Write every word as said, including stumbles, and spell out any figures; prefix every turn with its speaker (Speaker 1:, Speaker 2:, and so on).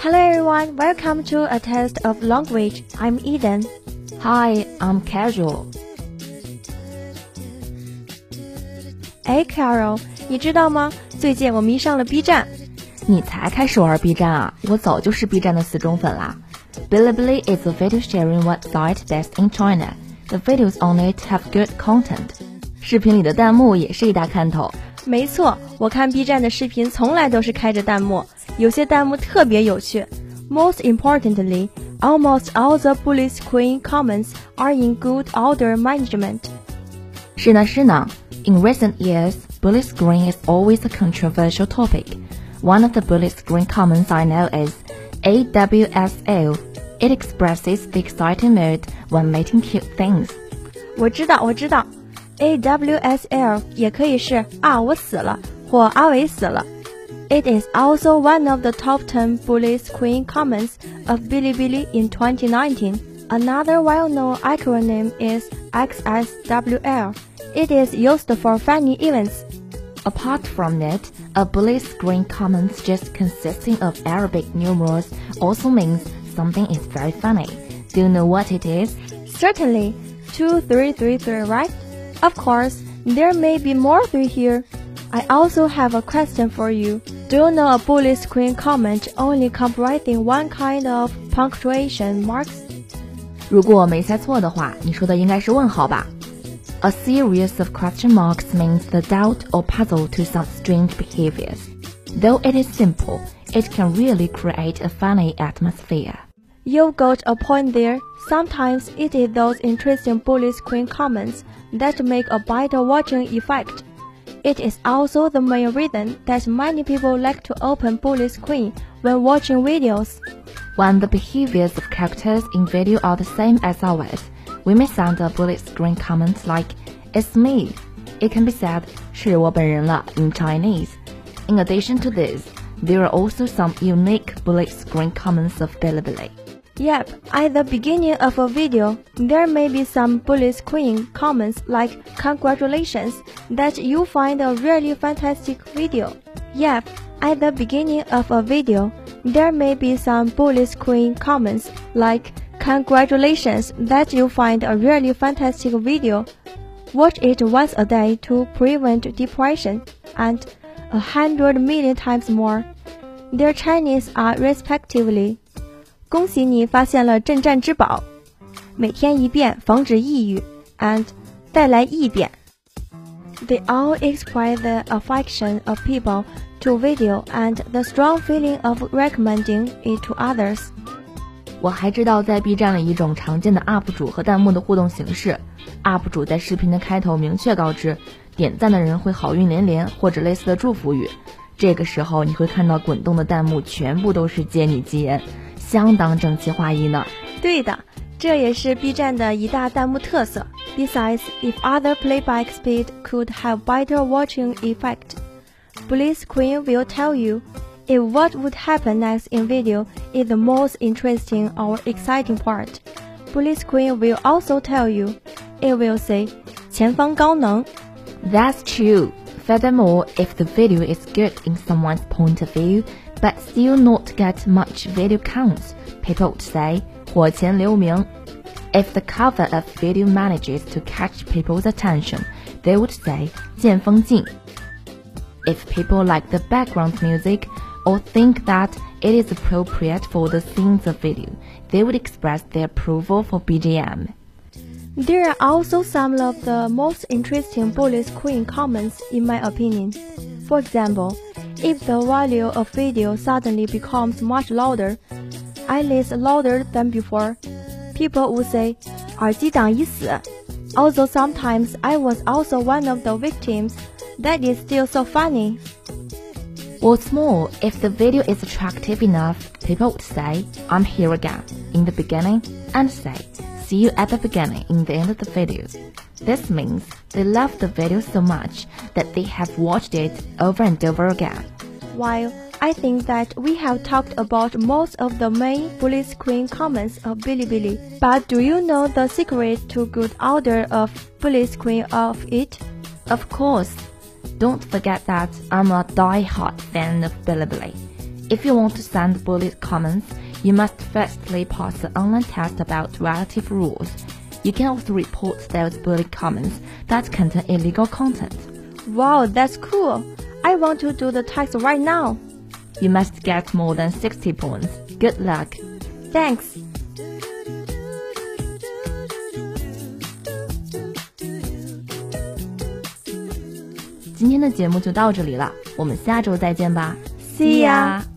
Speaker 1: Hello everyone, welcome to A Test of Language. I'm Eden.
Speaker 2: Hi, I'm Casual.
Speaker 1: 哎 Carol， 你知道吗？最近我迷上了 B 站。
Speaker 2: 你才开始玩 B 站啊？我早就是 B 站的死忠粉啦。Bilibili is a video sharing website based in China. The videos on it have good content. 视频里的弹幕也是一大看头。
Speaker 1: 没错，我看 B 站的视频从来都是开着弹幕，有些弹幕特别有趣。Most importantly, almost all the bully screen comments are in good order management.
Speaker 2: 是呢是呢。In recent years, bully screen is always a controversial topic. One of the bully screen comments I know is A W S L. It expresses the exciting mood when making cute things.
Speaker 1: 我知道，我知道。A W S L 也可以是啊我死了或阿伟死了。It is also one of the top ten bully screen comments of Bilibili in twenty nineteen. Another well-known acronym is X S W L. It is used for funny events.
Speaker 2: Apart from it, a bully screen comment just consisting of Arabic numerals also means something is very funny. Do you know what it is?
Speaker 1: Certainly, two three three three, right? Of course, there may be more three here. I also have a question for you. Do you know a bully screen comment only comprising one kind of punctuation marks?
Speaker 2: 如果我没猜错的话，你说的应该是问号吧？ A series of question marks means the doubt or puzzle to some strange behaviors. Though it is simple, it can really create a funny atmosphere.
Speaker 1: You've got a point there. Sometimes it is those interesting bully screen comments that make a better watching effect. It is also the main reason that many people like to open bully screen when watching videos.
Speaker 2: When the behaviors of characters in video are the same as ours, we may send a bully screen comment like, "It's me." It can be said, 是我本人了 in Chinese. In addition to this, there are also some unique bully screen comments of Bilibili.
Speaker 1: Yep, at the beginning of a video, there may be some bully screen comments like "Congratulations, that you find a really fantastic video." Yep, at the beginning of a video, there may be some bully screen comments like "Congratulations, that you find a really fantastic video. Watch it once a day to prevent depression," and a hundred million times more. Their Chinese are respectively. 恭喜你发现了镇战之宝，每天一遍防止抑郁 and 带来异变。They all express the affection of people to video and the strong feeling of recommending it to others.
Speaker 2: 我还知道在 B 站里一种常见的 U P 主和弹幕的互动形式 ，U P 主在视频的开头明确告知，点赞的人会好运连连或者类似的祝福语，这个时候你会看到滚动的弹幕全部都是接你吉言。相当整齐划一呢。
Speaker 1: 对的，这也是 B 站的一大弹幕特色。Besides, if other playback speed could have better watching effect, bully screen will tell you if what would happen next in video is the most interesting or exciting part. Bully screen will also tell you. It will say 前方高能。
Speaker 2: That's true. Furthermore, if the video is good in someone's point of view, but still not get much video counts, people would say 火前留名. If the cover of video manages to catch people's attention, they would say 见风进. If people like the background music or think that it is appropriate for the scenes of video, they would express their approval for B G M.
Speaker 1: There are also some of the most interesting bully screen comments in my opinion. For example, if the value of video suddenly becomes much louder, at least louder than before, people would say, 耳机党已死. Although sometimes I was also one of the victims, that is still so funny.
Speaker 2: What's more, if the video is attractive enough, people would say, "I'm here again," in the beginning, and say, "See you at the beginning in the end of the video." This means they love the video so much that they have watched it over and over again.
Speaker 1: While I think that we have talked about most of the main bully screen comments of Bilibili, but do you know the secret to good order of bully screen of it?
Speaker 2: Of course. Don't forget that I'm a die-hard fan of Bilibili. If you want to send bullied comments, you must firstly pass an online test about relative rules. You can also report those bullied comments that contain illegal content.
Speaker 1: Wow, that's cool. I want to do the test right now.
Speaker 2: You must get more than sixty points. Good luck.
Speaker 1: Thanks.
Speaker 2: 今天的节目就到这里了，我们下周再见吧。
Speaker 1: See ya.